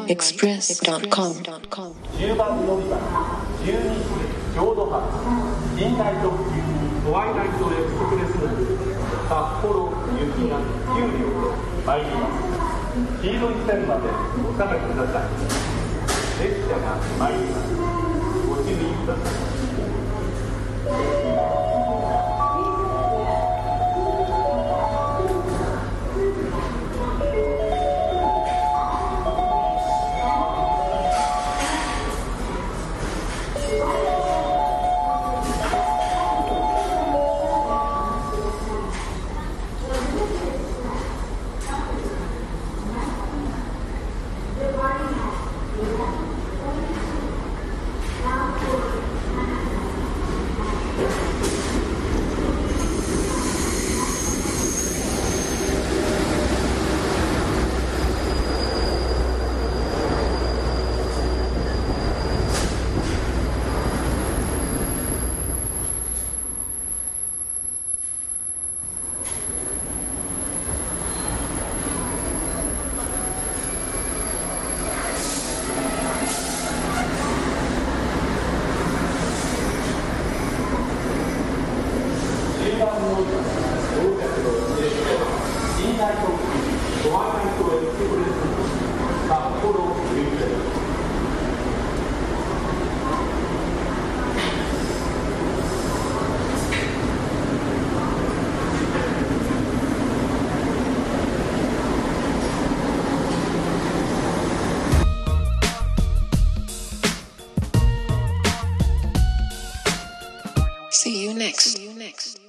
SoundExpress.com 10番乗り場12時浄土発近代特急トワイライトエクスプレス札幌雪が9両参ります。黄色い線までお下がりください。列車が参ります。ご注意ください。 See you next.